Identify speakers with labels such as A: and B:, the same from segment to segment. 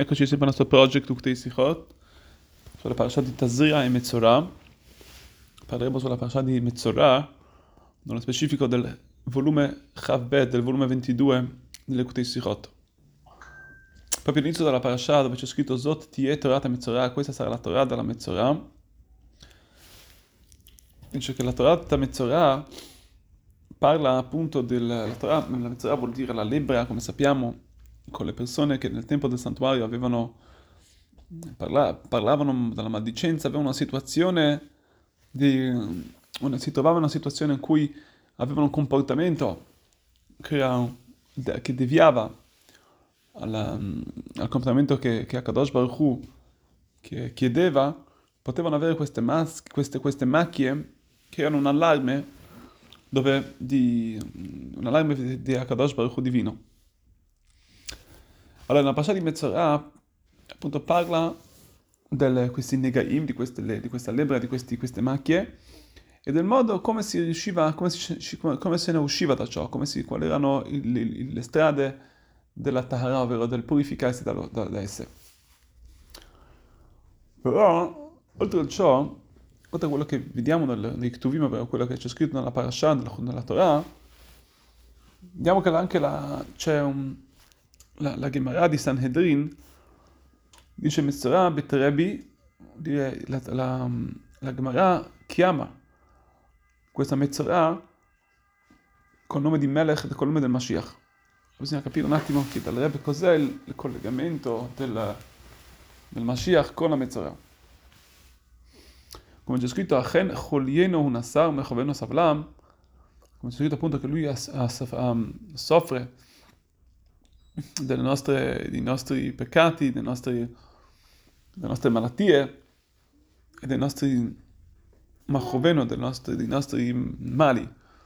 A: Eccoci sempre al nostro project Uktei Sichot, sulla parasha di Tazria e Metzorah. Parleremo sulla parasha di Metzorah, nello specifico del volume Chavbet, del volume 22 delle Uktei Sichot. Proprio all'inizio della parasha dove c'è scritto Zot Tie Torah Metzorah, questa sarà la Torah della Metzorah. Dice che la Torah Metzorah parla appunto della Torah, la Metzorah vuol dire la lebbra, come sappiamo, con le persone che nel tempo del santuario parlavano della maldicenza, avevano una situazione si trovavano in una situazione in cui avevano un comportamento che deviava al comportamento che Akadosh Baruch Hu che chiedeva, potevano avere queste macchie che erano un allarme di Akadosh Baruch Hu divino. Allora, nella parasha di Metzorah, appunto, parla di questi negaim, di questa lebbra, di queste macchie, e del modo come si riusciva, come se ne usciva da ciò, quali erano le strade della Tahara, ovvero del purificarsi da esse. Però, oltre a ciò, oltre a quello che vediamo nei Ktuvim, ovvero quello che c'è scritto nella parasha, nella Torah, vediamo che la Gemara di Sanhedrin dice Metzorah betrebi, la Gemara chiama questa Metzorah col nome di Melech, col nome del Mashiach. Bisogna capire un attimo che dal Rebbe cos'è il collegamento del Mashiach con la Metzorah. Come c'è scritto, Achen cholieno unasar mechoveno savlam, come c'è scritto appunto che lui soffre dei nostri peccati, delle nostre malattie e dei nostri machoveno, dei nostri mali,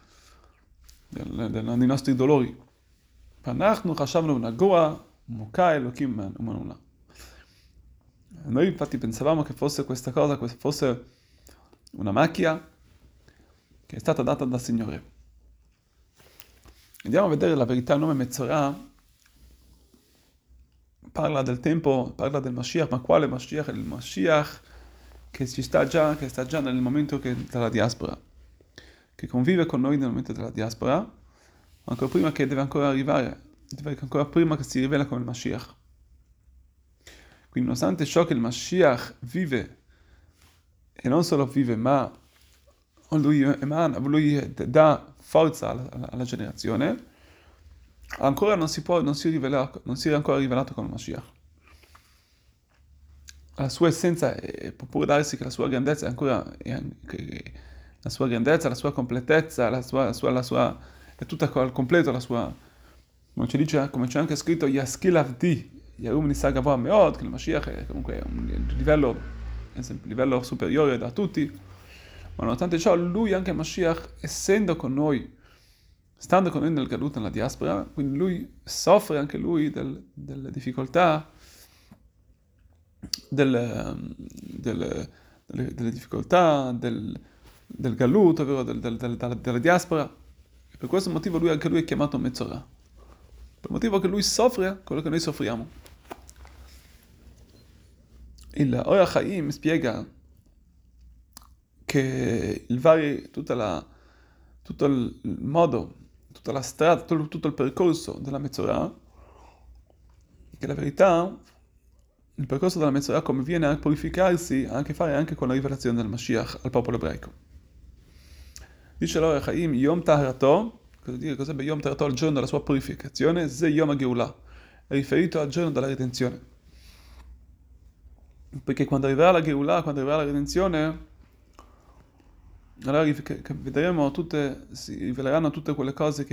A: dei nostri dolori. Panachnu chashavnu nagoa muka elokim umanula. Noi infatti pensavamo che fosse questa cosa, fosse una macchia che è stata data dal Signore. Andiamo a vedere la verità. Il nome Metzorah parla del Mashiach, ma quale Mashiach? Il Mashiach che sta già nel momento della diaspora, che convive con noi nel momento della diaspora, ma ancora prima che deve ancora arrivare, ancora prima che si rivela come il Mashiach. Quindi nonostante ciò che il Mashiach vive, e non solo vive, ma lui dà forza alla generazione, ancora non si è ancora rivelato come il Mashiach. La sua essenza può pure darsi che la sua grandezza è ancora, la sua grandezza, la sua completezza, è tutta al completo la sua, come c'è anche scritto, Yaskil Avdi, Yarum Nisagavah Meod, che il Mashiach è comunque un livello superiore da tutti, ma nonostante ciò, lui anche il Mashiach, essendo con noi, stando con noi nel Galut, nella diaspora, quindi lui soffre anche lui delle difficoltà, delle difficoltà del Galut, ovvero della diaspora. E per questo motivo anche lui è chiamato Metzorah. Per il motivo che lui soffre quello che noi soffriamo. Il Or HaChaim spiega che tutto il modo, tutta la strada, tutto il percorso della Metzorah, che la verità, il percorso della Metzorah come viene a purificarsi ha a che fare anche con la rivelazione del Mashiach al popolo ebraico. Dice l'Or HaChaim, Yom Taharato, cos'è Yom Taharato, il giorno della sua purificazione, Ze Yom HaGeulah, è riferito al giorno della redenzione. Perché quando arriverà la Geulah, quando arriverà la redenzione, allora si riveleranno tutte quelle cose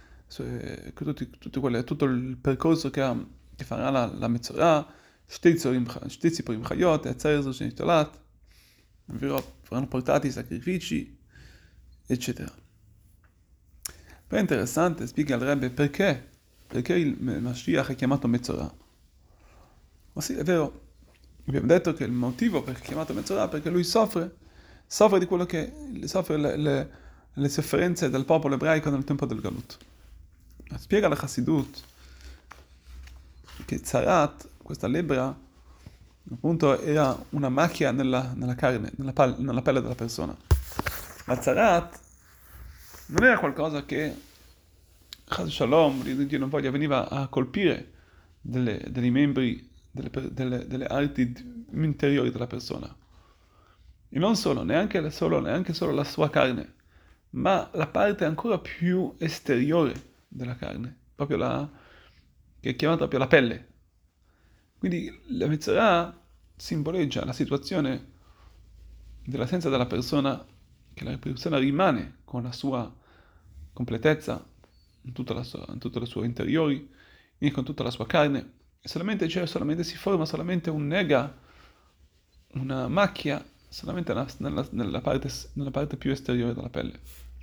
A: tutto il percorso che farà la Metzorah, Shtei Tziporim Chayot, Etzer Shenitolat, verranno portati i sacrifici, eccetera. Però è interessante, spiega il Rebbe perché il Mashiach è chiamato Metzorah. Ma sì, è vero, abbiamo detto che il motivo per cui è chiamato Metzorah è perché lui soffre di quello soffre le sofferenze del popolo ebraico nel tempo del Galut. Spiega la Chassidut che Tzarat questa lebbra appunto era una macchia nella carne, nella pelle della persona. La Zarat non era qualcosa che, Chas Shalom, Dio non voglia, veniva a colpire dei membri, delle arti interiori della persona. E non solo, neanche solo la sua carne, ma la parte ancora più esteriore della carne, che è chiamata proprio la pelle. Quindi la Metzorah simboleggia la situazione dell'assenza della persona, che la persona rimane con la sua completezza, in tutte le sue interiori, e con tutta la sua carne, e si forma solamente un nega, una macchia, solamente nella parte più esteriore della pelle.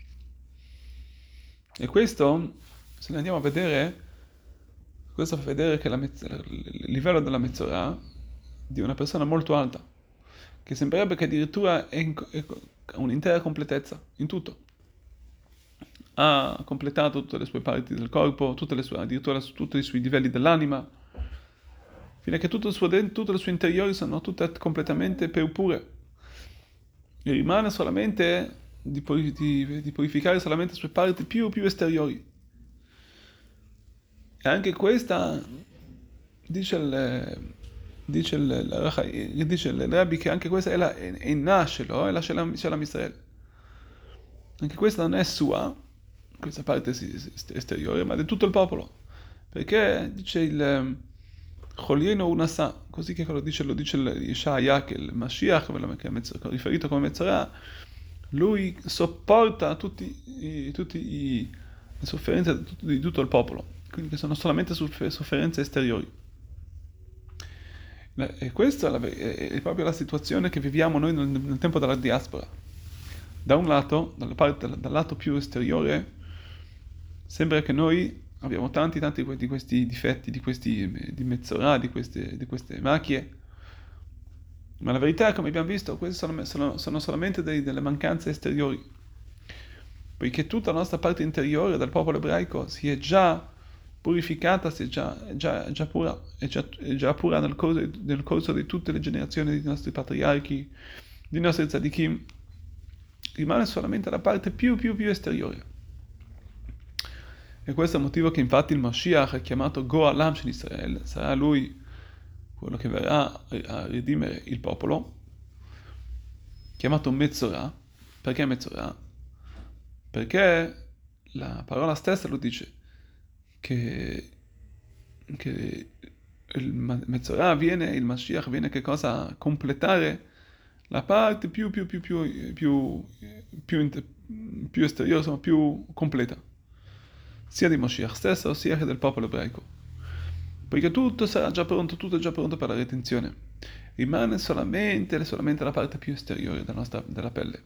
A: E questo, se ne andiamo a vedere, questo fa vedere che il livello della Metzorah di una persona molto alta, che sembrerebbe che addirittura è un'intera completezza in tutto. Ha completato tutte le sue parti del corpo, addirittura tutti i suoi livelli dell'anima, fino a che tutte le sue interiori sono tutte completamente pure. E rimane solamente di purificare solamente le sue parti più esteriori. E anche questa, dice il Rabbi, che anche questa è nascelo, è la Shalom Israel. Anche questa non è sua, questa parte esteriore, ma di tutto il popolo. Perché dice il Cholieno Unasa, così che lo dice il Yeshaya, che il Mashiach, che è riferito come Metzorah, lui sopporta tutte le sofferenze di tutto il popolo, quindi che sono solamente sofferenze esteriori. E questa è proprio la situazione che viviamo noi nel tempo della diaspora. Da un lato, dal lato più esteriore, sembra che noi abbiamo tanti di questi difetti, di Metzorah, di queste macchie, ma la verità, come abbiamo visto, queste sono solamente delle mancanze esteriori, poiché tutta la nostra parte interiore del popolo ebraico si è già purificata, è già pura, è già pura nel corso di tutte le generazioni dei nostri patriarchi, dei nostri tzadikim. Rimane solamente la parte più esteriore. E questo è il motivo che infatti il Mashiach è chiamato Go'alam Shel Israel, sarà lui quello che verrà a redimere il popolo, chiamato Metzorah. Perché Metzorah? Perché la parola stessa lo dice, che il il Mashiach viene che cosa? A completare la parte più esteriore, insomma, più completa, sia di Mashiach stesso, sia che del popolo ebraico. Perché tutto è già pronto per la redenzione. Rimane solamente la parte più esteriore della pelle.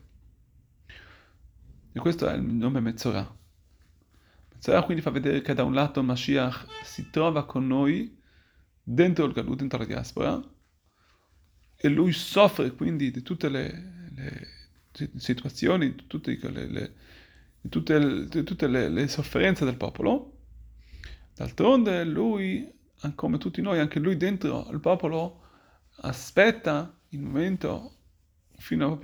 A: E questo è il nome Metzorah. Metzorah quindi fa vedere che da un lato Mashiach si trova con noi dentro il Galut, dentro la diaspora, e lui soffre quindi di tutte le situazioni, di tutte le sofferenze del popolo. D'altronde lui, come tutti noi, anche lui dentro il popolo aspetta il momento fino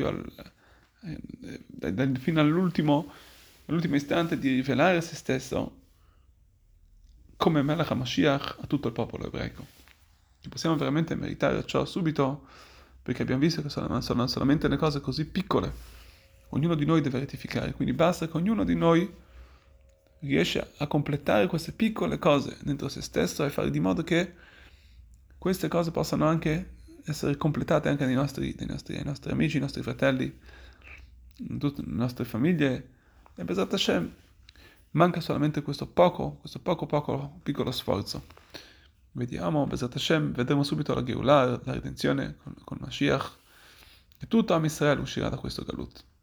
A: all'ultimo istante di rivelare se stesso come Melech HaMashiach a tutto il popolo ebraico. Possiamo veramente meritare ciò subito, perché abbiamo visto che sono solamente le cose così piccole. Ognuno di noi deve rettificare, quindi basta che ognuno di noi riesce a completare queste piccole cose dentro se stesso e fare di modo che queste cose possano anche essere completate anche dai nostri amici, ai nostri fratelli, in tutte le nostre famiglie. E Bezrat Hashem manca solamente questo piccolo sforzo. Vediamo, Bezrat Hashem, vedremo subito la Geulah, la redenzione con Mashiach, e tutto Am Israel uscirà da questo Galut.